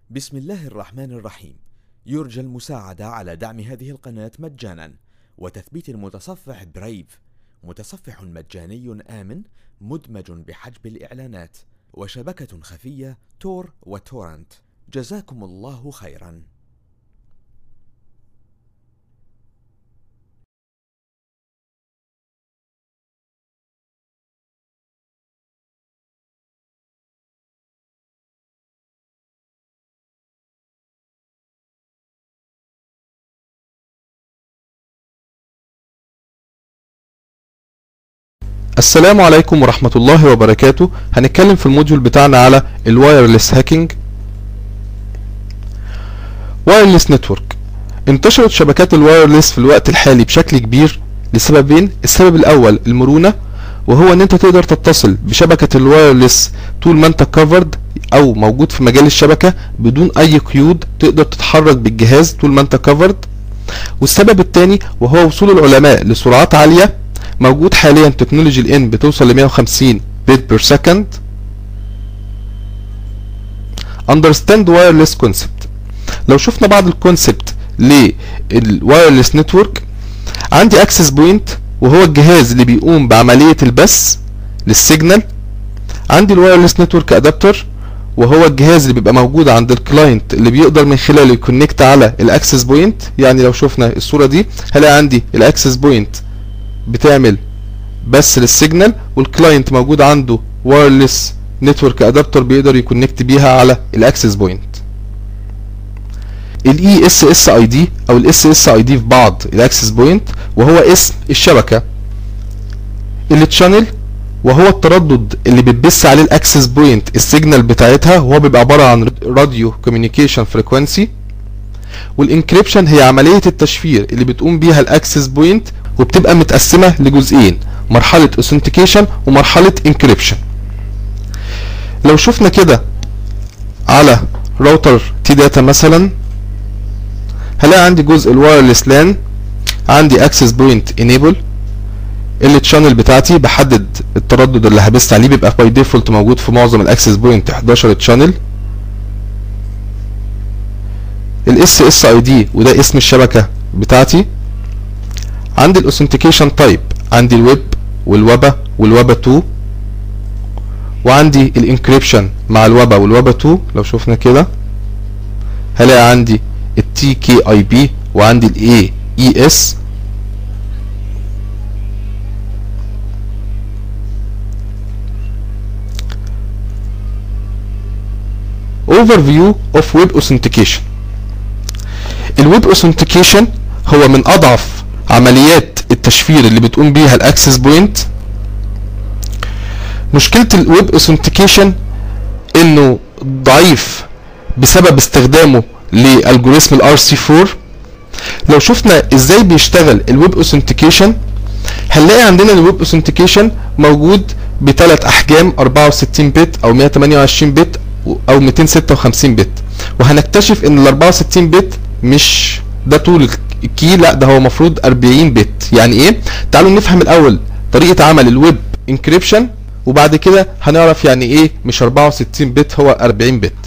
بسم الله الرحمن الرحيم. يرجى المساعدة على دعم هذه القناة مجانا وتثبيت المتصفح برايف، متصفح مجاني آمن مدمج بحجب الإعلانات وشبكة خفية تور وتورنت. جزاكم الله خيرا. السلام عليكم ورحمة الله وبركاته. هنتكلم في الموديول بتاعنا على الوايرلس هاكينج. وايرلس نتورك. انتشرت شبكات الوايرلس في الوقت الحالي بشكل كبير لسببين. السبب الاول المرونة، وهو ان انت تقدر تتصل بشبكة الوايرلس طول ما انت كفرد او موجود في مجال الشبكة بدون اي قيود، تقدر تتحرك بالجهاز طول ما انت كفرد. والسبب الثاني وهو وصول العلماء لسرعات عالية. موجود حاليا تكنولوجي الان بتوصل ل 150 بيت بير سكند. understand wireless concept. لو شفنا بعض الكونسبت للوايرلس نتورك، عندي اكسس بوينت وهو الجهاز اللي بيقوم بعملية البث للسيجنال. عندي الوايرلس نتورك ادابتر وهو الجهاز اللي بيبقى موجود عند الكلاينت اللي بيقدر من خلاله يكونكت على الاكسس بوينت. يعني لو شفنا الصورة دي هلاقي عندي الاكسس بوينت بتعمل بس للسيجنال، والكلاينت موجود عنده وايرلس نتورك ادابتر بيقدر يكونكت بيها على الاكسس بوينت. الاي اس اس اي دي او الاس اس اي دي في بعض الاكسس بوينت وهو اسم الشبكه. التشانل وهو التردد اللي بتبث عليه الاكسس بوينت السيجنال بتاعتها، وهو بيبقى عباره عن راديو كوميونيكيشن فريكوانسي. والانكريبشن هي عمليه التشفير اللي بتقوم بيها الاكسس بوينت، وبتبقى متقسمه لجزئين: مرحله اوثنتيكيشن ومرحله انكريبشن. لو شفنا كده على راوتر تي داتا مثلا، هلاقي عندي جزء الوايرلس لان، عندي اكسس بوينت انيبل. التشانل بتاعتي بحدد التردد اللي هبث عليه، بيبقى باي ديفولت موجود في معظم الاكسس بوينت 11 تشانل. الاس اس اي دي وده اسم الشبكه بتاعتي. عندي الاوثنتيكيشن تايب، عندي الويب والوبا والوبا 2، وعندي الانكريبشن مع الوبا والوبا 2. لو شفنا كده هلاقي عندي التي كي اي بي وعندي الاي اي اس. overview of web authentication. الويب authentication هو من اضعف عمليات التشفير اللي بتقوم بيها الاكسس بوينت. مشكلة الويب اوثنتيكيشن انه ضعيف بسبب استخدامه لالجوريثم الار سي 4. لو شفنا ازاي بيشتغل الويب اوثنتيكيشن، هنلاقي عندنا الويب اوثنتيكيشن موجود بثلاث احجام: 64 بت او 128 بت او 256 بت. وهنكتشف ان ال 64 بت مش ده طول الكي، لا ده هو مفروض 40 بت. يعني ايه؟ تعالوا نفهم الاول طريقة عمل الويب انكريبشن، وبعد كده هنعرف يعني ايه مش 64 بت هو 40 بت.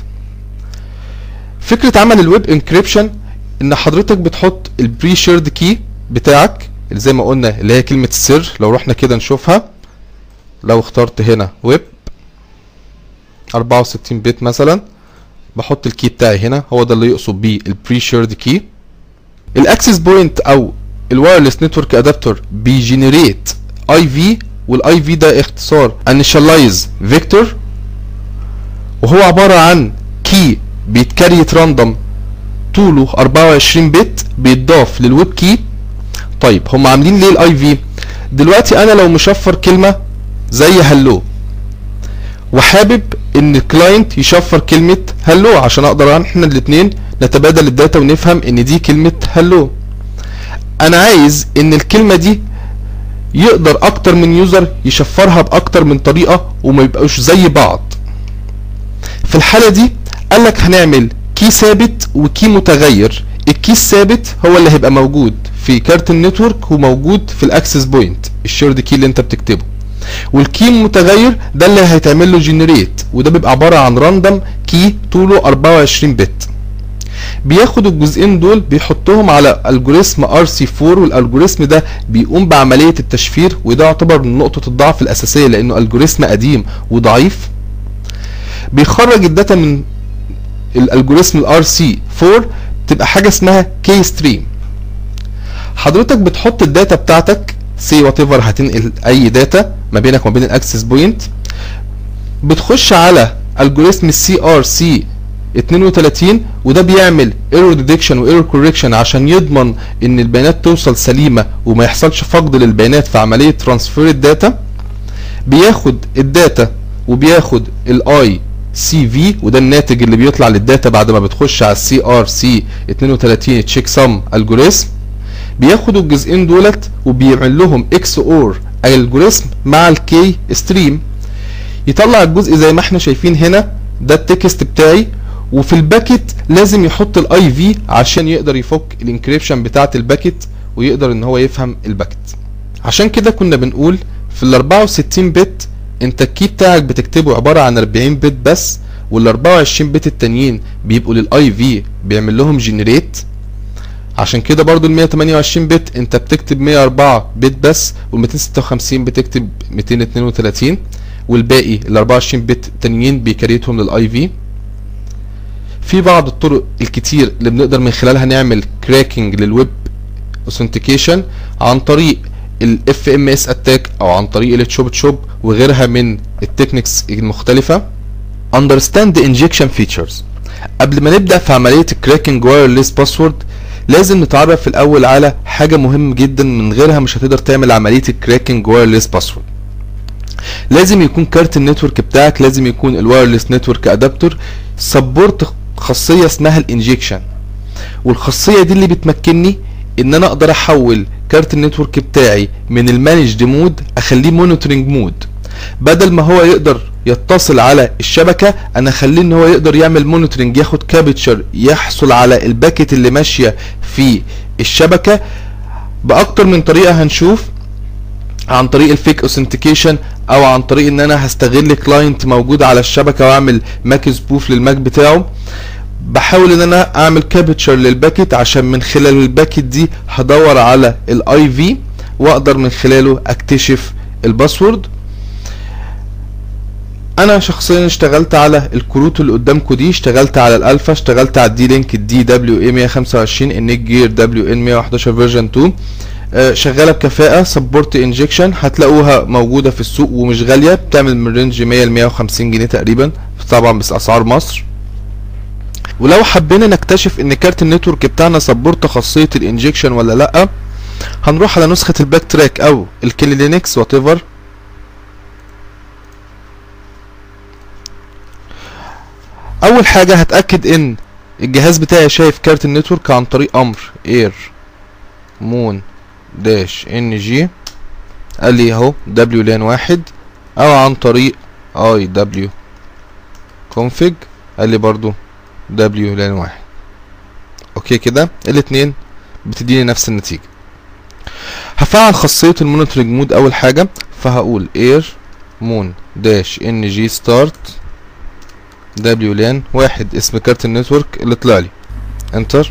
فكرة عمل الويب انكريبشن ان حضرتك بتحط البري شيرد كي بتاعك اللي زي ما قلنا اللي هي كلمة السر. لو رحنا كده نشوفها، لو اخترت هنا ويب 64 بت مثلا، بحط الكي بتاعي هنا، هو ده اللي يقصد بيه البري شيرد كي. الاكسس بوينت او الوايرلس نتورك ادابتر بيجنريت اي في، والاي في ده اختصار انيشالايز فيكتور، وهو عباره عن كي بيتكريت راندوم طوله 24 بت بيتضاف للويب كي. طيب هم عاملين ليه الاي في؟ دلوقتي انا لو مشفر كلمه زي هلو وحابب ان الكلاينت يشفر كلمه هلو عشان اقدر احنا الاثنين نتبادل الداتا ونفهم ان دي كلمه هلو، انا عايز ان الكلمه دي يقدر اكتر من يوزر يشفرها باكتر من طريقه وما يبقوش زي بعض. في الحاله دي قالك هنعمل كي ثابت وكي متغير. الكي الثابت هو اللي هيبقى موجود في كارت النتورك وموجود في الاكسس بوينت، الشيرد كي اللي انت بتكتبه. والكي متغير ده اللي هيتعمل له جنريت، وده بيبقى عباره عن راندوم كي طوله 24 بت. بياخد الجزئين دول بيحطهم على الجوريثم RC4، والالجوريثم ده بيقوم بعمليه التشفير، وده يعتبر من نقطه الضعف الاساسيه لانه الجوريثم قديم وضعيف. بيخرج الداتا من الالجوريثم RC4 تبقى حاجه اسمها كي ستريم. حضرتك بتحط الداتا بتاعتك سي وات ايفر، هتنقل اي داتا ما بينك وما بين الاكسس بوينت، بتخش على الجوريثم CRC 32 وده بيعمل ايرور ديتكشن وايرور كوركشن عشان يضمن ان البيانات توصل سليمه وما يحصلش فقد للبيانات في عمليه ترانسفير الداتا. بياخد الداتا وبياخد الاي سي في، وده الناتج اللي بيطلع للداتا بعد ما بتخش على CRC 32 تشيك سم الجوريثم. بياخد الجزئين دولت وبيعمل لهم اكس اور الجوريثم مع الكي ستريم، يطلع الجزء زي ما احنا شايفين هنا، ده التكست بتاعي. وفي الباكت لازم يحط الاي في عشان يقدر يفك الانكريبشن بتاعه الباكت ويقدر ان هو يفهم الباكت. عشان كده كنا بنقول في ال 64 بت انت الكي بتاعك بتكتبه عباره عن 40 بت بس، وال 24 بت التانيين بيبقوا للاي في بيعمل لهم جنريت. عشان كده برضو ال 128 بت انت بتكتب 104 بت بس، وال 256 بتكتب 232، والباقي ال 24 بت التانيين بيكريتهم للاي في. في بعض الطرق الكتير اللي بنقدر من خلالها نعمل كراكنج للويب اوثنتيكيشن عن طريق الاف ام اس اتاك او عن طريق التشوب تشوب وغيرها من التكنيكس المختلفه. Understand the injection features. قبل ما نبدا في عمليه الكراكنج وايرلس باسورد لازم نتعرف في الاول على حاجه مهمه جدا، من غيرها مش هتقدر تعمل عمليه الكراكنج وايرلس باسورد. لازم يكون كارت النتورك بتاعك، لازم يكون الوايرلس نتورك ادابتور سبورت خاصيه اسمها الانجكشن، والخاصيه دي اللي بتمكنني ان انا اقدر احول كارت النتورك بتاعي من المانجد مود اخليه مونيتورنج مود. بدل ما هو يقدر يتصل على الشبكه انا اخليه ان هو يقدر يعمل مونيتورنج، ياخد كابتشر، يحصل على الباكت اللي ماشيه في الشبكه باكتر من طريقه. هنشوف عن طريق الفيك اوثنتيكيشن او عن طريق ان انا هستغل كلاينت موجود على الشبكه واعمل ماك سبوف للماك بتاعه. بحاول ان انا اعمل كابتشر للباكت عشان من خلال الباكت دي هدور على الاي في واقدر من خلاله اكتشف الباسورد. انا شخصيا اشتغلت على الكروت اللي قدامكم دي، اشتغلت على الالفا، اشتغلت على الدي لينك الدي دبليو اي 125 النيك جير دبليو ان 111 فيرجن 2، شغاله بكفاءه. سبورت انجكشن هتلاقوها موجوده في السوق ومش غاليه، بتعمل من رينج 100 ل 150 جنيه تقريبا، طبعا بس اسعار مصر. ولو حبينا نكتشف ان كارت النتورك بتاعنا سبورت خاصيه الانجكشن ولا لا، هنروح على نسخه الباك تراك او الكيلي لينكس وات ايفر. اول حاجه هتاكد ان الجهاز بتاعي شايف كارت النتورك عن طريق امر اير مون داش ان جي، قال لي اهو دبليو لان 1، او عن طريق اي دبليو كونفيج قال لي برضو دبليو لان 1. اوكي كده الاتنين بتديني نفس النتيجه. هفعل خاصيه المونيتورنج مود اول حاجه، فهقول اير مون داش ان جي ستارت دبليو لان 1 اسم كارت النتورك اللي طلع لي، انتر.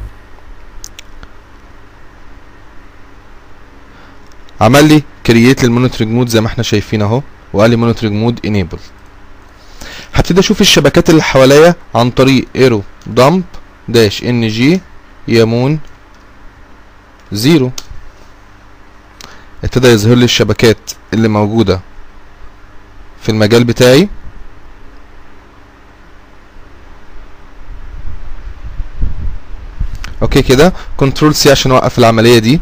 عمل لي كرييت للمونيتورنج مود زي ما احنا شايفين اهو، وقال لي مونيتورنج مود انيبل. هبتدي اشوف الشبكات اللي حواليا عن طريق ايرو دامب داش ان جي يمون 0، ابتدى يظهر لي الشبكات اللي موجوده في المجال بتاعي. اوكي كده كنترول سي عشان اوقف العمليه دي.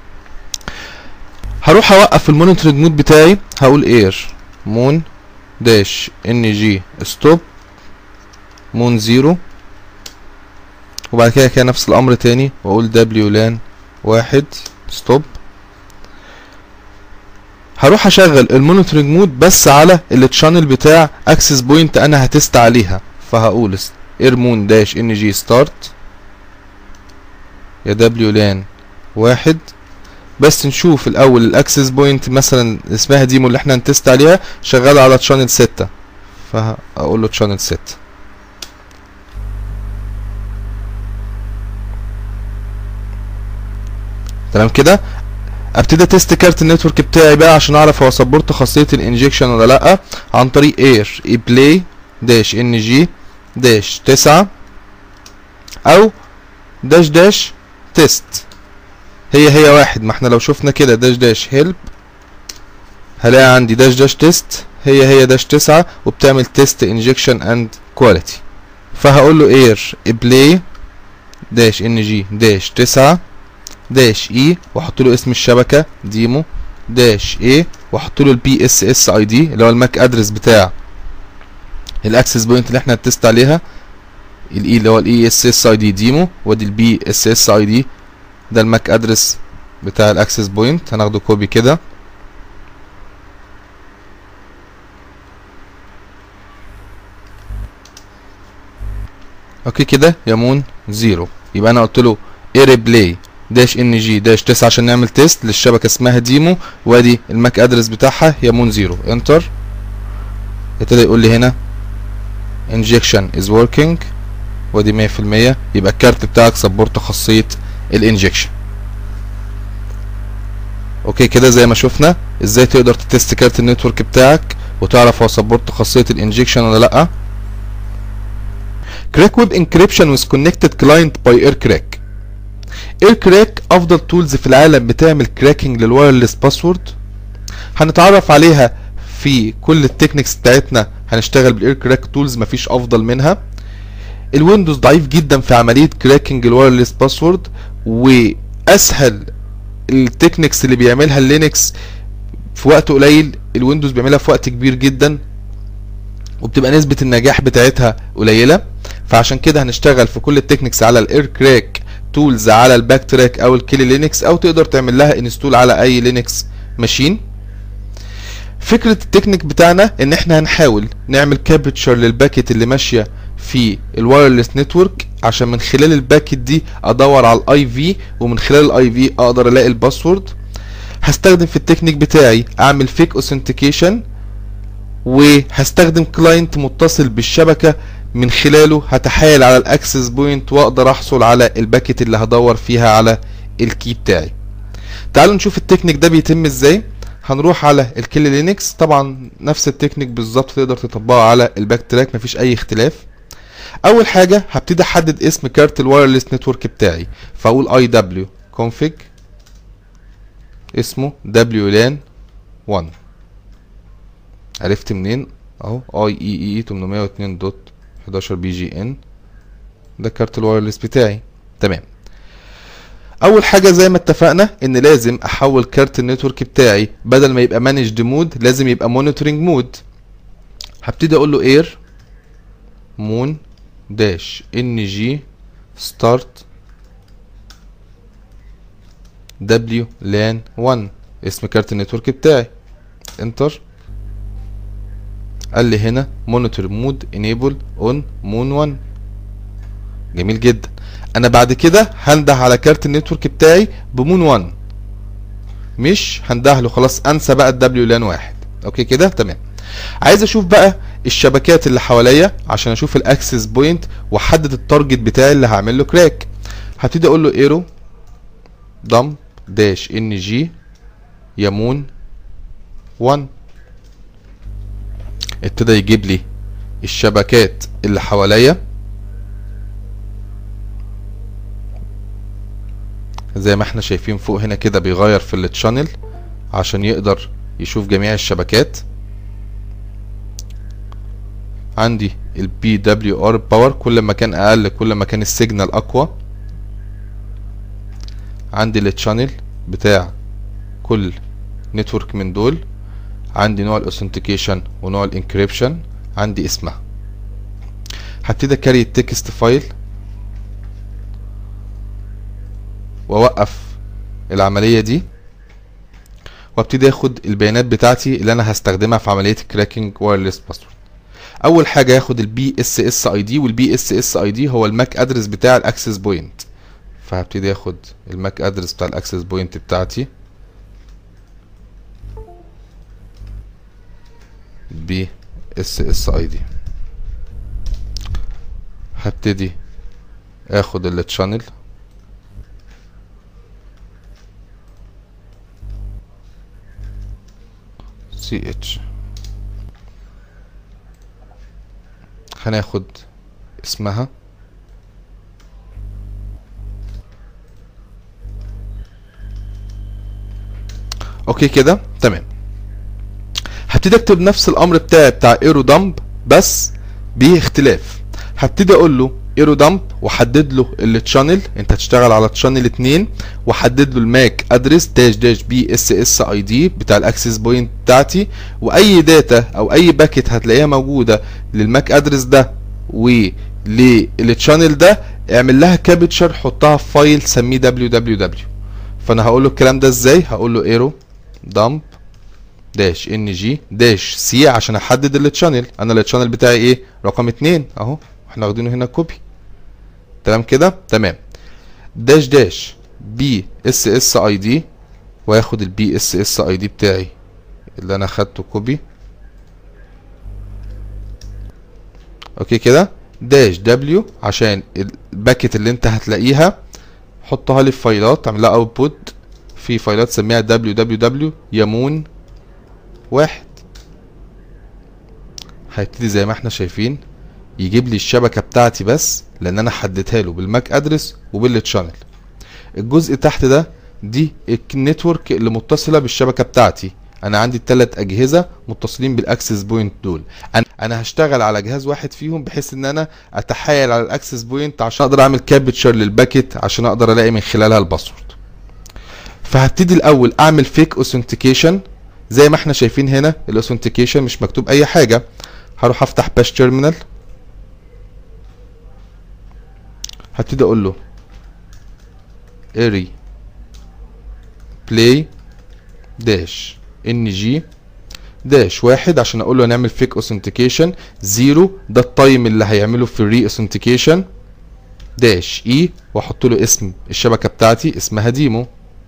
هروح اوقف المونيتورنج مود بتاعي، هقول اير مون داش ان جي ستوب مون 0، وبعد كده نفس الامر تاني واقول دبليو لان 1 ستوب. هروح اشغل المونيتورنج مود بس على التشانل بتاع اكسس بوينت انا هتست عليها، فهقول اير مون داش ان جي ستارت يا دبليو لان 1 بس نشوف الاول الاكسس بوينت مثلا اسمها ديمو اللي احنا هنتست عليها شغاله على تشانل 6، فهقول له تشانل 6. تمام كده. ابتدي تيست كارت النتورك بتاعي بقى عشان اعرف هو سبورت خاصيه الانجكشن ولا لا، عن طريق اير بلاي داش ان جي داش 9 او داش داش تيست. هي واحد، ما احنا لو شفنا كده داش داش هيلب هلاقي عندي داش داش تيست هي داش 9 وبتعمل تيست انجكشن اند كواليتي. فهقول له اير بلاي داش ان جي داش 9 داش اي واحط له اسم الشبكه ديمو داش اي واحط له البي اس اس اي دي اللي هو الماك ادرس بتاع الاكسس بوينت اللي احنا هنتست عليها، الاي اللي هو الاي اس اس اي دي ديمو، وادي البي اس اس اي دي ده الماك ادرس بتاع الاكسس بوينت. هناخده كوبي كده اوكي كده يمون 0. يبقى انا قلت له اير بلاي داش ان جي داش 9 عشان نعمل تيست للشبكه اسمها ديمو، وادي الماك ادرس بتاعها يمون 0. انتر. ابتدى يقول لي هنا انجكشن از وركينج وادي 100%. يبقى الكارت بتاعك سبورت خاصيه الانجكشن. اوكي كده زي ما شفنا ازاي تقدر تتست كارت النتورك بتاعك وتعرف هو سبورت خاصيه الانجكشن ولا لا. كراك ويب انكريبشن ويز كونكتد كلاينت باي اير كراك. اير كراك افضل تولز في العالم بتعمل كراكنج للوايرلس باسورد. هنتعرف عليها في كل التكنيكس بتاعتنا. هنشتغل بالاير كراك تولز مفيش افضل منها. الويندوز ضعيف جدا في عمليه كراكنج الوايرلس باسورد، واسهل التكنيكس اللي بيعملها اللينكس في وقت قليل الويندوز بيعملها في وقت كبير جدا، وبتبقى نسبه النجاح بتاعتها قليله. فعشان كده هنشتغل في كل التكنيكس على الاير كراك تولز على الباك تراك او الكيلي لينكس، او تقدر تعمل لها انستول على اي لينكس ماشين. فكره التكنيك بتاعنا ان احنا هنحاول نعمل كابتشر للباكيت اللي ماشيه في الوايرلس نتورك، عشان من خلال الباكيت دي ادور على الاي في، ومن خلال الاي في اقدر الاقي الباسورد. هستخدم في التكنيك بتاعي اعمل فيك اوثنتيكيشن، وهستخدم كلاينت متصل بالشبكه من خلاله هتحايل على الاكسس بوينت واقدر احصل على الباكيت اللي هدور فيها على الكي بتاعي. تعالوا نشوف التكنيك ده بيتم ازاي. هنروح على الكيلي لينكس، طبعا نفس التكنيك بالظبط تقدر تطبقها على الباك تراك مفيش اي اختلاف. اول حاجه هبتدي احدد اسم كارت الوايرلس نتورك بتاعي، فاقول اي دبليو كونفيج اسمه WLAN 1. عرفت منين؟ اهو IEEE 802.11 BGN ده كارت الوايرلس بتاعي. تمام. اول حاجه زي ما اتفقنا ان لازم احول كارت النتورك بتاعي بدل ما يبقى مانجد مود لازم يبقى مونيتورنج مود. هبتدي اقول له اير مون داش ان جي ستارت WLAN 1 اسم كارت النتورك بتاعي. انتر. قال لي هنا مونيتور مود انيبل اون مون 1. جميل جدا. انا بعد كده هنده على كارت النتورك بتاعي بمون 1، مش هنده له خلاص، انسى بقى WLAN 1. اوكي كده تمام. عايز اشوف بقى الشبكات اللي حواليا عشان اشوف الاكسس بوينت واحدد التارجت بتاعي اللي هعمل له كراك. هبتدي اقول له ايرو دمب داش ان جي يمون 1. ابتدى يجيب لي الشبكات اللي حواليا زي ما احنا شايفين فوق هنا كده، بيغير في التشانل عشان يقدر يشوف جميع الشبكات. عندي البي دبليو ار باور، كل ما كان اقل كل ما كان السيجنال اقوى. عندي التشانل بتاع كل نتورك من دول. عندي نوع الاوثنتيكيشن ونوع الانكريبشن، عندي اسمها. هبتدي اكري التكست فايل واوقف العمليه دي، وابتدي اخد البيانات بتاعتي اللي انا هستخدمها في عمليه الكراكنج وايرلس باسورد. اول حاجه هاخد البي اس اس اي دي، والبي اس اس اي دي هو الماك ادرس بتاع الاكسس بوينت. فهبتدي اخد الماك ادرس بتاع الاكسس بوينت بتاعتي البي اس اس اي دي. هبتدي اخد التشانل سي اتش، هناخد اسمها اوكي كده تمام. هبتدي اكتب نفس الامر بتاع ايرو دمب بس باختلاف. هبتدي اقول له ايرو دمب واحدد له التشانل، انت هتشتغل على تشانل 2، واحدد له الماك ادرس داش داش بي اس اس اي دي بتاع الاكسس بوينت بتاعتي، واي داتا او اي باكيت هتلاقيها موجوده للماك ادرس ده وللتشانل ده اعمل لها كابتشر، حطها في فايل سميه www. فانا هقول له الكلام ده ازاي، هقول له ايرو دمب داش ان جي داش سي عشان احدد التشانل. انا التشانل بتاعي ايه؟ رقم 2 اهو، احنا واخدينه هنا كوبي. تمام كده تمام. داش داش بي اس اس اي دي، واخد البي اس اس اي دي بتاعي اللي انا اخدته كوبي. اوكي كده. داش دبليو عشان الباكت اللي انت هتلاقيها حطها لي في فايلات، اعمل لها اوتبوت في فايلات سميها www يمون 1. هيبتدي زي ما احنا شايفين يجيب لي الشبكه بتاعتي بس، لان انا حددتها له بالماك ادرس وبالتشانل. الجزء تحت ده دي النتورك اللي متصله بالشبكه بتاعتي. انا عندي ال3 اجهزه متصلين بالاكسس بوينت دول. انا هشتغل على جهاز واحد فيهم بحيث ان انا اتحايل على الاكسس بوينت عشان اقدر اعمل كابتشر للباكيت عشان اقدر الاقي من خلالها الباسورد. فهبتدي الاول اعمل فيك اوثنتيكيشن زي ما احنا شايفين هنا. الاوثنتيكيشن مش مكتوب اي حاجه. هروح افتح باش تيرمينال، هبتدي اقول له اري بلاي داش ان جي داش 1 عشان اقول له هنعمل فيك اوثنتيكيشن. 0 ده التايم اللي هيعمله في الري اوثنتيكيشن. داش اي واحط له اسم الشبكه بتاعتي اسمها ديمو.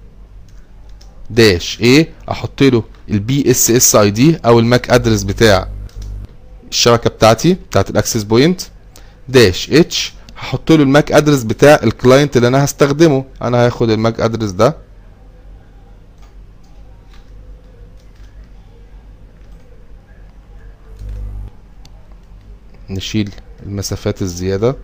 داش ايه احط له البي اس اس اي دي او الماك ادرس بتاع الشبكه بتاعتي بتاعت الاكسس بوينت. داش اتش هحط له الماك ادرس بتاع الكلاينت اللي انا هستخدمه. انا هاخد الماك ادرس ده نشيل المسافات الزياده.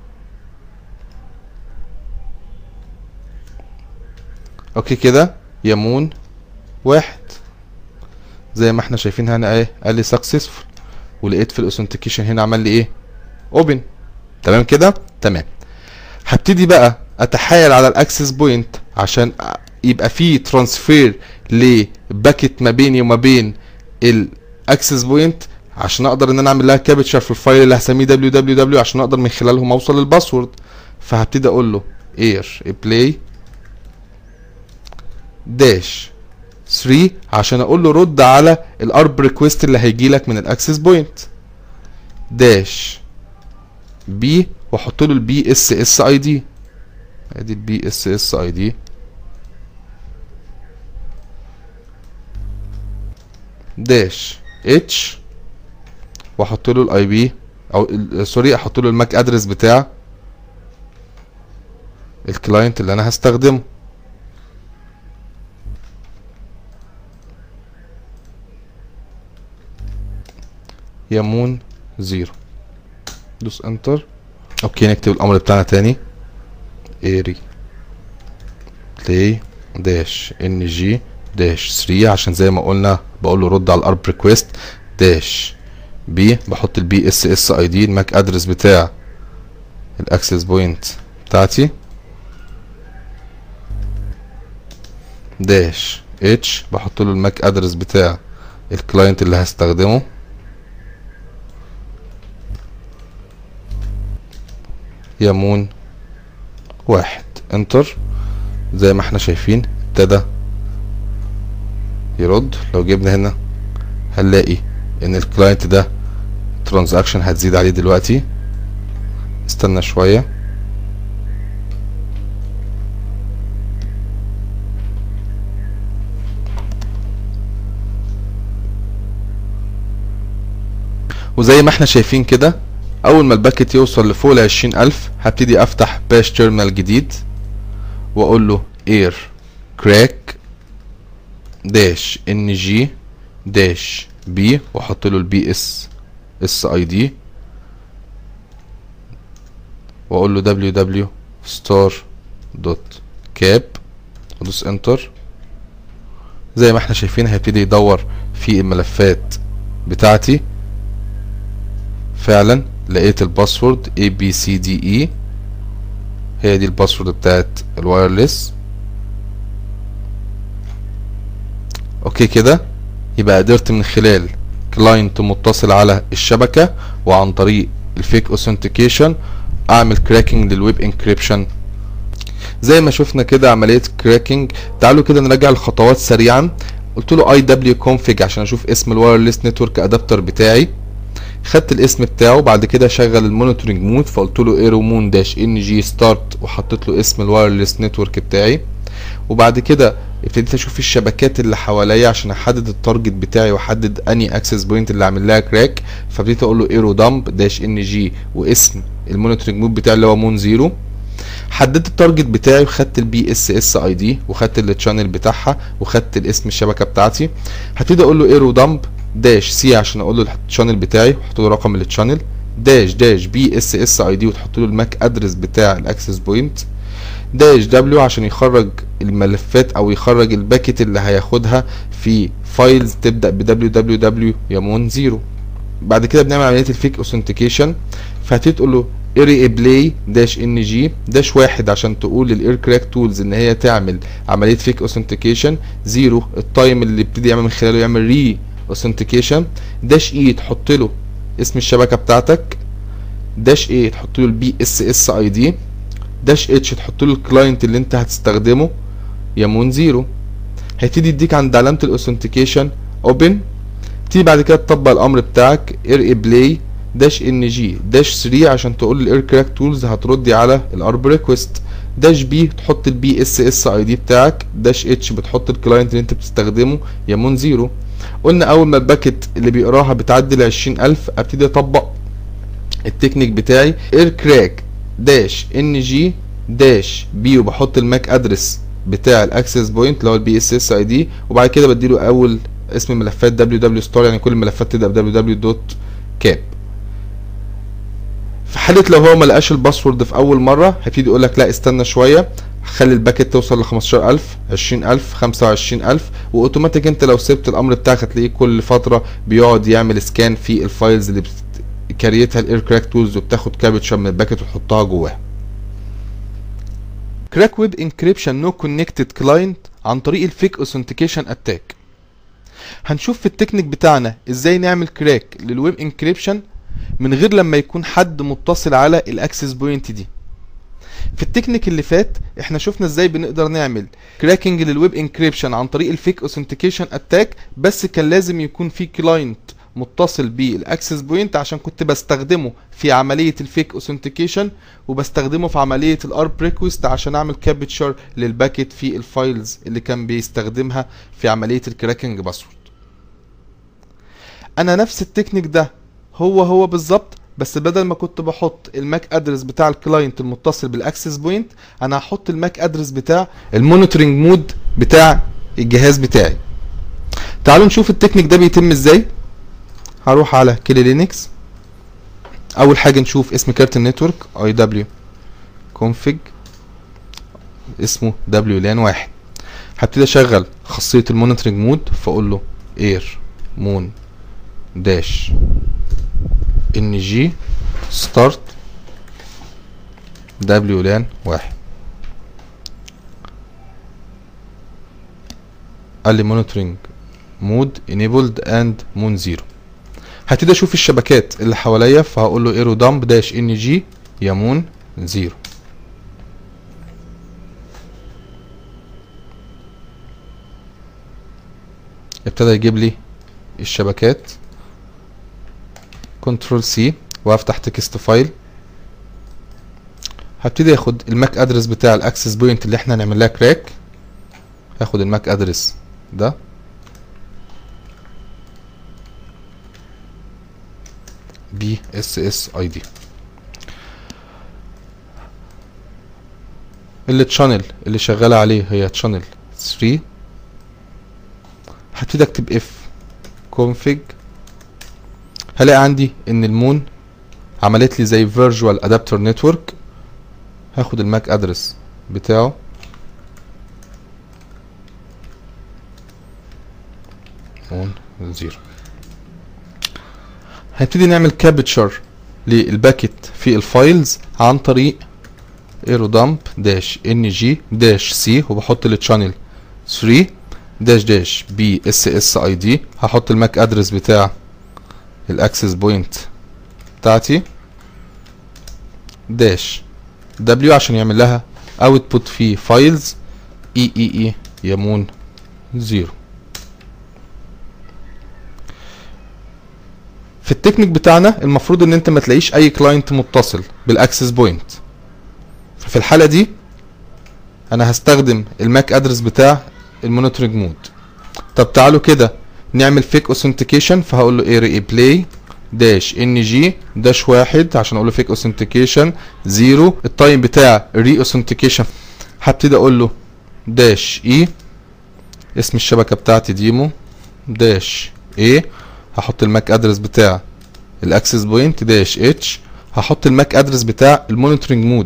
اوكي كده يمون 1 زي ما احنا شايفين هنا ايه، قال لي سكسسفول، ولقيت في الاوثنتيكيشن هنا عمل لي ايه، اوبن. تمام كده تمام. هبتدي بقى اتحايل على الاكسس بوينت عشان يبقى في ترانسفير لباكيت ما بيني وما بين الاكسس بوينت عشان اقدر ان انا اعمل لها كابتشر في الفايل اللي هسميه www عشان اقدر من خلالهم اوصل للباسورد. فهبتدي اقول له اير بلاي داش 3 عشان اقول له رد على الارب ريكويست اللي هيجي لك من الاكسس بوينت. داش بي واحط له البي اس اس اي دي، ادي البي اس اس اي دي. داش اتش واحط له الاي بي او سوري احط له الماك ادرس بتاع الكلاينت اللي انا هستخدمه. يمون 0. دوس انتر. اوكي نكتب الامر بتاعنا تاني اري بلاي داش ان جي داش 3 عشان زي ما قلنا بقول له رد على الارب ريكويست. داش بي بحط البي اس اس اي دي الماك ادرس بتاع الاكسس بوينت بتاعتي. داش اتش بحط له الماك ادرس بتاع الكلاينت اللي هستخدمه. يمون 1 انتر. زي ما احنا شايفين ابتدى يرد. لو جبنا هنا هنلاقي ان الكلاينت ده ترانزاكشن هتزيد عليه دلوقتي. استنى شويه. وزي ما احنا شايفين كده اول ما الباكت يوصل لفوق ال20,000 هبتدي افتح باش تيرمينال جديد واقول له air crack داش ان جي داش بي واحط له البي اس اي دي واقول له www star دوت كاب وادوس انتر. زي ما احنا شايفين هيبتدي يدور في الملفات بتاعتي. فعلا لقيت الباسورد ABCDE، هي دي الباسورد بتاعت الوايرلس. اوكي كده يبقى قدرت من خلال كلاينت متصل على الشبكة وعن طريق الفيك اوثنتيكيشن اعمل كراكنج للويب انكريبشن. زي ما شفنا كده عملية كراكنج. تعالوا كده نراجع الخطوات سريعا. قلت له IW config عشان اشوف اسم الوايرلس نتورك ادابتر بتاعي، خدت الاسم بتاعه. بعد كده شغل المونيتورنج مود فقلت له ايرومون داش ان جي ستارت وحطيت له اسم الوايرلس نتورك بتاعي. وبعد كده ابتديت اشوف الشبكات اللي حواليا عشان احدد التارجت بتاعي واحدد اني اكسس بوينت اللي عامل لها كراك. فابتديت اقول له ايرو دامب داش ان جي واسم المونيتورنج مود بتاعي اللي هو مون 0. حددت التارجت بتاعي وخدت البي اس اس اي دي وخدت التشانل بتاعها وخدت الاسم الشبكه بتاعتي. هبتدي اقول له ايرو دامب داش سي عشان اقول له التشانل بتاعي واحط له رقم التشانل داش بي اس اس اي دي وتحط له الماك ادرس بتاع الاكسس بوينت داش دبليو عشان يخرج الملفات او يخرج الباكت اللي هياخدها في فايلز تبدا ب www يمون 0. بعد كده بنعمل عمليه الفيك اوثنتيكيشن. فهتبتدي تقول له اري بلاي داش ان جي داش 1 عشان تقول للاير كراك تولز ان هي تعمل عمليه فيك اوثنتيكيشن. 0 التايم اللي ابتدي يعمل من خلاله يعمل ري اوثنتيكيشن. داش اي تحط له اسم الشبكه بتاعتك. داش اي تحط له البي اس اس اي دي. داش اتش تحط له الكلاينت اللي انت هتستخدمه يمون 0. هيبتدي يديك عند علامه الاوثنتيكيشن اوبن. تيجي بعد كده تطبق الامر بتاعك ار بلاي داش ان جي داش 3 عشان تقول للاير كراك تولز هتردي على الارب ريكوست. داش بي تحط البي اس اس اي دي بتاعك. داش اتش بتحط الكلاينت اللي انت بتستخدمه يمون 0. قلنا اول ما الباكت اللي بيقراها بتعدي ال 20,000 ابتدي اطبق التكنيك بتاعي اير كراك داش ان جي داش بي وبحط الماك ادرس بتاع الاكسس بوينت اللي هو البي اس اس اي دي. وبعد كده بديله اول اسم الملفات www ستار يعني كل الملفات تبدا ب www.cap. في حاله لو هو ما لقاش الباسورد في اول مره هيبتدي يقول لك لا استنى شويه خلي الباكت توصل ل 15,000 20,000 25,000 واوتوماتيك انت لو سبت الامر بتاعك هتلاقيه كل فتره بيقعد يعمل سكان في الفايلز اللي كريتها الاير كراك تولز وبتاخد كابتشر من الباكت وتحطها جواها. كراك ويب انكريبشن نو كونكتد كلاينت عن طريق الفيك اوثنتيكيشن اتاك. هنشوف في التكنيك بتاعنا ازاي نعمل كراك للويب انكريبشن من غير لما يكون حد متصل على الاكسس بوينت دي. في التكنيك اللي فات احنا شفنا ازاي بنقدر نعمل كراكنج للويب انكريبشن عن طريق الفيك اوثنتيكيشن اتاك، بس كان لازم يكون في كلاينت متصل بالاكسس بوينت عشان كنت بستخدمه في عمليه الفيك اوثنتيكيشن وبستخدمه في عمليه الارب ريكوست عشان اعمل كابتشر للباكت في الفايلز اللي كان بيستخدمها في عمليه الكراكنج باسورد. انا نفس التكنيك ده هو بالظبط، بس بدل ما كنت بحط الماك ادرس بتاع الكلاينت المتصل بالاكسس بوينت انا هحط الماك ادرس بتاع المونيتورنج مود بتاع الجهاز بتاعي. تعالوا نشوف التكنيك ده بيتم ازاي. هروح على كيلي لينكس. اول حاجه نشوف اسم كارت النتورك IW config اسمه WLAN 1. هبتدي اشغل خاصيه المونيتورنج مود فاقول له اير مون داش ان جي ستارت WLAN 1. قال لي مونيتورنج مود enabled and مون 0. هبتدي اشوف الشبكات اللي حواليا فهقول له ايرو دامب داش ان جي يمون 0. ابتدى يجيب لي الشبكات. كنترول سي وافتح تكست فايل. هبتدي اخد الماك ادرس بتاع الاكسس بوينت اللي احنا هنعمل لها كراك. هاخد الماك ادرس ده BSSID. التشانل اللي شغاله عليه هي تشانل 3. هبتدي اكتب اف config، هلاقي عندي ان المون عملت لي زي فيرجوال ادابتر نتورك. هاخد الماك ادرس بتاعه مون 0. هنبتدي نعمل كابتشر للباكت في الفايلز عن طريق ايرودامب داش ان جي داش سي، وبحط التشانل 3 داش داش بي اس اس اي دي. هحط الماك ادرس بتاع الاكسس بوينت بتاعتي داش دبليو عشان يعمل لها اوتبوت في فايلز اي يمون 0. في التكنيك بتاعنا المفروض ان انت ما تلاقيش اي كلاينت متصل بالاكسس بوينت، ففي الحالة دي انا هستخدم الماك ادرس بتاع المونيتورنج مود. طب تعالوا كده نعمل فيك اوثنتيكيشن، فهقول له ايه ريبلاي داش ان جي داش 1 عشان اقول له فيك اوثنتيكيشن 0. التايم بتاع ري اوثنتيكيشن هبتدي اقول له داش اي، اسم الشبكه بتاعتي ديمو داش اي. هحط الماك ادرس بتاع الاكسس بوينت داش اتش. هحط الماك ادرس بتاع المونيتورنج مود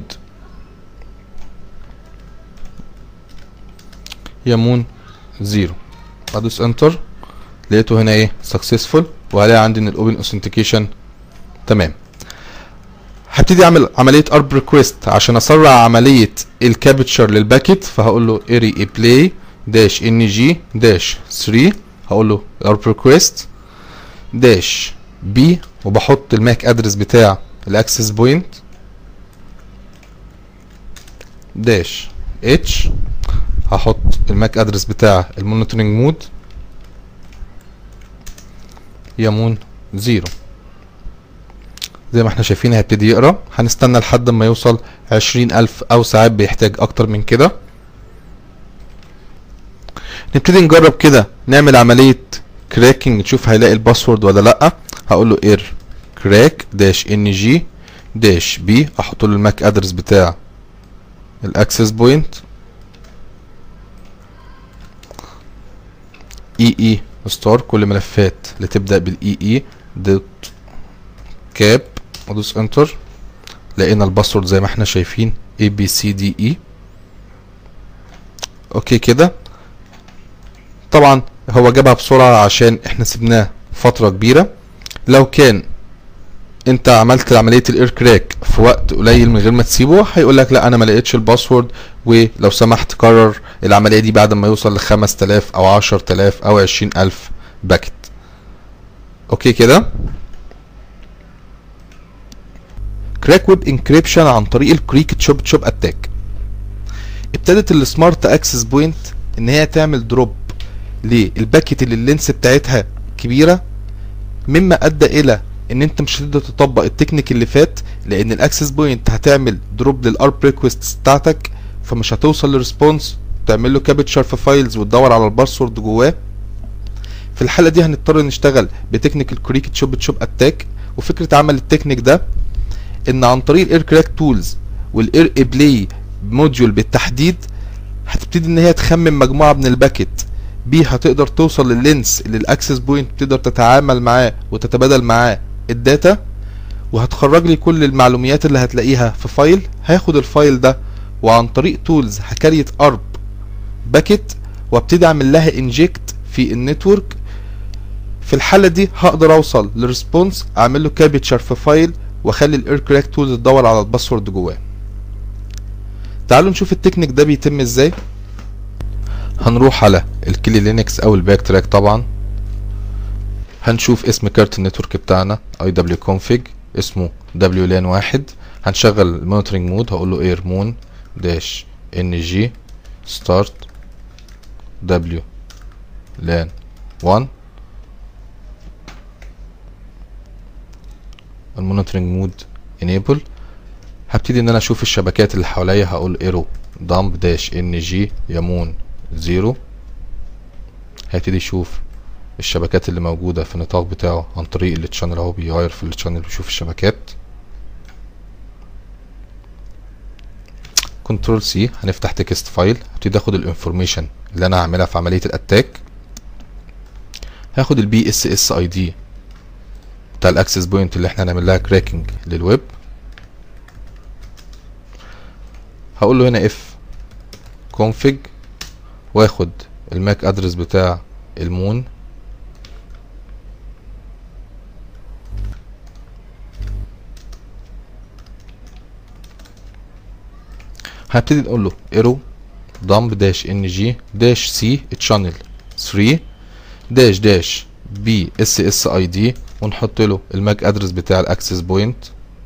يمون 0. ادوس انتر، لقيته هنا ايه سكسسفول، وهلاقي عندي ان الاوبن اوثنتيكيشن تمام. هبتدي اعمل عمليه ارب ريكويست عشان اسرع عمليه الكابتشر للباكيت، فهقول له اري بلاي داش ان جي داش 3. هقول له ارب ريكويست داش بي، وبحط الماك ادرس بتاع الاكسس بوينت داش اتش. هحط الماك ادرس بتاع المونيتورنج مود يمون 0. زي ما احنا شايفين هيبتدي يقرا. هنستنى لحد ما يوصل 20,000 او ساعات بيحتاج اكتر من كده. نبتدي نجرب كده نعمل عملية كراكنج نشوف هيلاقي الباسورد ولا لا. هقول له اير كراك داش ان جي داش بي. احط له الماك ادرس بتاع الاكسس بوينت اي ستار، كل ملفات اللي تبدا بالاي دوت كاب. ادوس انتر، لقينا الباسورد زي ما احنا شايفين ABCDE. اوكي كده. طبعا هو جابها بسرعه عشان احنا سيبناه فتره كبيره. لو كان انت عملت عمليه الاير كراك في وقت قليل من غير ما تسيبه، هيقول لك لا انا ما لقيتش الباسورد، ولو سمحت كرر العمليه دي بعد ما يوصل ل 5000 او 10000 او 20000 باكت. اوكي كده. كراك ويب انكريبشن عن طريق الكريك تشوب تشوب اتاك. ابتدت السمارت اكسس بوينت ان هي تعمل دروب للباكت اللي اللينس بتاعتها كبيره، مما ادى الى ان انت مش هتقدر تطبق التكنيك اللي فات، لان الاكسس بوينت هتعمل دروب للارب ريكويست بتاعتك، فمش هتوصل للريسبونس تعمل له كابتشر في فايلز وتدور على الباسورد جواه. في الحاله دي هنضطر نشتغل بتكنيك الكريك تشوب تشوب اتاك. وفكره عمل التكنيك ده ان عن طريق الاير كراك تولز والاير بلاي موديول بالتحديد هتبتدي ان هي تخمن مجموعه من الباكت بيها تقدر توصل لللينس اللي الاكسس بوينت تقدر تتعامل معاه وتتبادل معاه الداتا، وهتخرج لي كل المعلومات اللي هتلاقيها في فايل. هاخد الفايل ده وعن طريق تولز هكريت ارب باكت وابتدي اعمل لها انجكت في النتورك. في الحاله دي هقدر اوصل للريسبونس، اعمل له كابتشر في فايل، واخلي الاير كراك تولز تدور على الباسورد جواه. تعالوا نشوف التكنيك ده بيتم ازاي. هنروح على الكلي لينكس او الباك تراك. طبعا هنشوف اسم كارت النتورك بتاعنا iwconfig اسمه WLAN 1. هنشغل المونيتورنج مود. هقول له اير مون داش ان جي ستارت WLAN 1. المونيتورنج مود enable. هبتدي ان انا اشوف الشبكات اللي حواليا. هقول ايرو دامب داش ان جي يمون 0. هيبتدي يشوف الشبكات اللي موجودة في النطاق بتاعه عن طريق التشانل اهو، بيغير في التشانل ويشوف الشبكات. كنترول سي، هنفتح تكست فايل، هبتدي اخد الانفورميشن اللي انا هعملها في عملية الاتاك. هاخد البي اس اس اي دي بتاع الاكسس بوينت اللي احنا هنعمل لها كراكنج للويب. هقول له هنا اف config، واخد الماك ادرس بتاع المون، هبتدي نقول له ايرو dump dash ng dash c channel 3 dash dash b ssid، ونحط له الماك ادرس بتاع الاكسس بوينت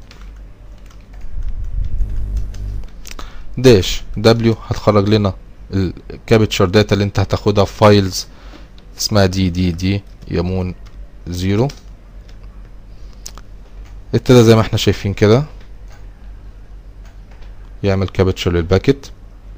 داش w، هتخرج لنا الكابتشر داتا اللي انت هتاخدها في فايلز اسمها دي يمون 0. ابتدى زي ما احنا شايفين كده يعمل كابتشر للباكت.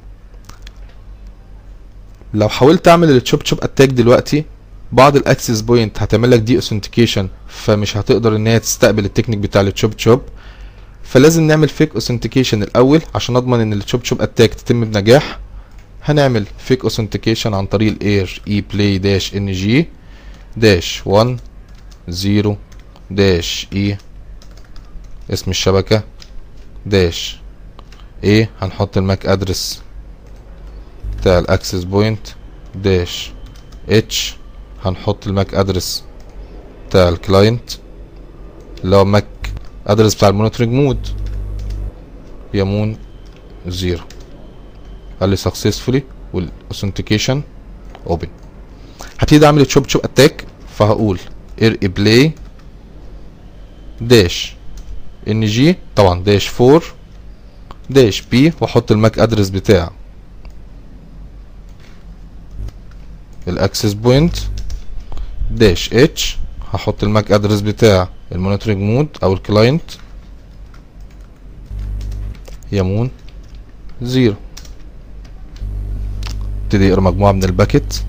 لو حاولت اعمل التشوب تشوب اتاك دلوقتي، بعض الاكسس بوينت هتعمل لك دي اوثنتيكيشن، فمش هتقدر ان هي تستقبل التكنيك بتاع التشوب تشوب، فلازم نعمل فيك اوثنتيكيشن الاول عشان اضمن ان التشوب تشوب اتاك تتم بنجاح. هنعمل فيك اوثنتيكيشن عن طريق الاير اي بلاي داش ان جي داش 1 0 داش اي اسم الشبكه داش ايه، هنحط الماك ادرس بتاع الاكسس بوينت داش اتش، هنحط الماك ادرس بتاع الكلاينت اللي هو ماك ادرس بتاع المونيتورنج مود يمون 0. قال لي successfully والاوثنتيكيشن اوبن. هبتدي اعمل تشوب تشوب اتاك، فهقول اير بلاي داش ان جي طبعا داش 4 داش بي، واحط الماك ادرس بتاع الاكسس بوينت داش اتش، هحط الماك ادرس بتاع المونيتورنج مود او الكلاينت يمون 0. ابتدي يقرا مجموعه من الباكت.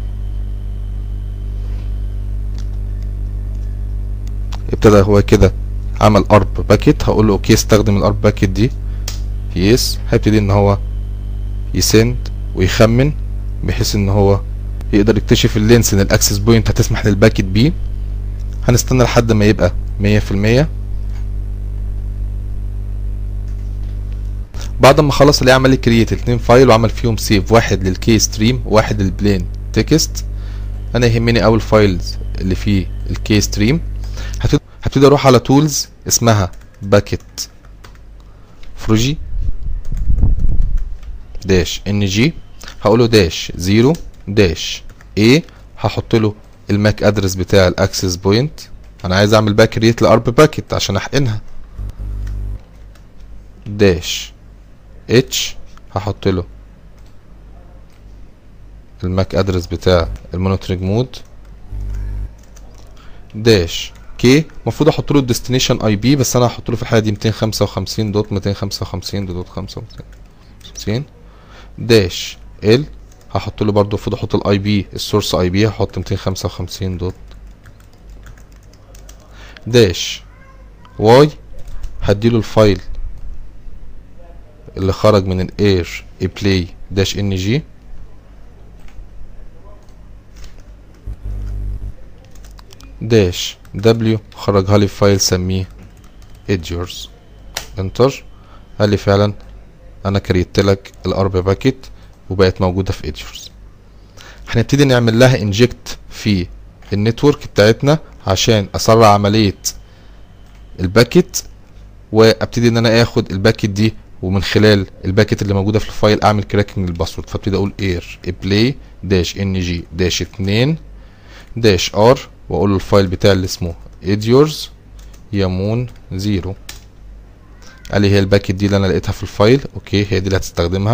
ابتدى هو كده عمل ارب باكت، هقول له اوكي استخدم الارب باكت دي يس. هيبتدي ان هو يسند ويخمن بحيث ان هو يقدر يكتشف اللينس ان الاكسس بوينت هتسمح للباكت بيه. هنستنى لحد ما يبقى 100%. بعد ما خلص اللي عمل لي كرييت 2 فايل وعمل فيهم سيف، واحد للكي ستريم وواحد للبلين تكست. انا يهمني اول فايلز اللي فيه الكي ستريم. هبتدي اروح على تولز اسمها باكت فروجي داش ان جي، هقوله داش 0 داش ايه، هحط له الماك ادرس بتاع الاكسس بوينت. انا عايز اعمل باك كرييت لارب باكت عشان احقنها داش اتش، هحط له الماك ادرس بتاع المونيتورنج مود داش كي. المفروض احط له الديستنيشن اي بي، بس انا هحط له في الحاله دي 255.255.55 داش ال، هحط له برضه المفروض احط الاي بي السورس اي بي، هحط 255 دوت داش واي، هديله الفايل اللي خرج من الاير بلاي داش ان جي داش دبليو، خرجها لي فايل سميه ادجورز انتر. قال لي فعلا انا كريت لك الارب باكيت وبقت موجوده في ادجورز. هنبتدي نعمل لها انجكت في النتورك بتاعتنا عشان اسرع عمليه الباكيت، وابتدي ان انا اخد الباكيت دي ومن خلال الباكيت اللي موجوده في الفايل اعمل كراكنج للباسورد. فابتدي اقول اير بلاي داش ان جي داش 2 داش ار، واقول له الفايل بتاعي اللي اسمه اديورز يمون 0. قال لي هي الباكيت دي اللي انا لقيتها في الفايل، اوكي هي دي اللي هتستخدمها.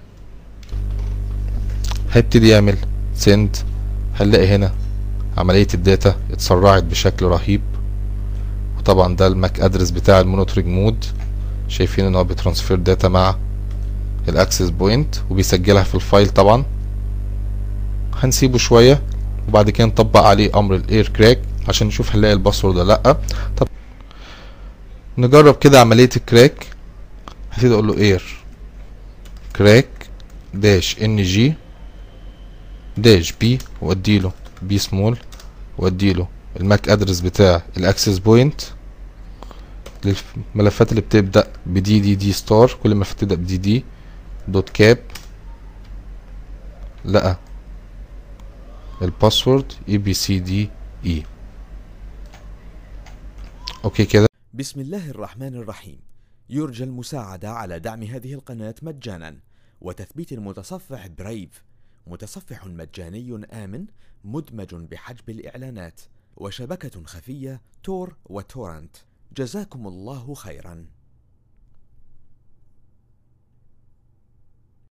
هيبتدي يعمل سند، هنلاقي هنا عمليه الداتا اتسرعت بشكل رهيب. وطبعا ده الماك ادرس بتاع المونيتورنج مود، شايفين ان هو بيترانسفير داتا مع الاكسس بوينت وبيسجلها في الفايل. طبعا هنسيبه شويه وبعد كده نطبق عليه امر الاير كراك عشان نشوف هنلاقي الباسورد ولا لا. طب نجرب كده عملية الكراك. هبتدي اقول له اير كراك داش ان جي داش بي واديله بي سمول واديله الماك ادرس بتاع الاكسس بوينت للملفات اللي بتبدأ بدي دي دي ستار. كل ما تبدأ بدي دي دوت كاب لقى الباسورد ABCDE. اوكي كده. بسم الله الرحمن الرحيم. يرجى المساعدة على دعم هذه القناة مجانا وتثبيت المتصفح برايف، متصفح مجاني آمن مدمج بحجب الإعلانات وشبكة خفية تور وتورنت. جزاكم الله خيرا.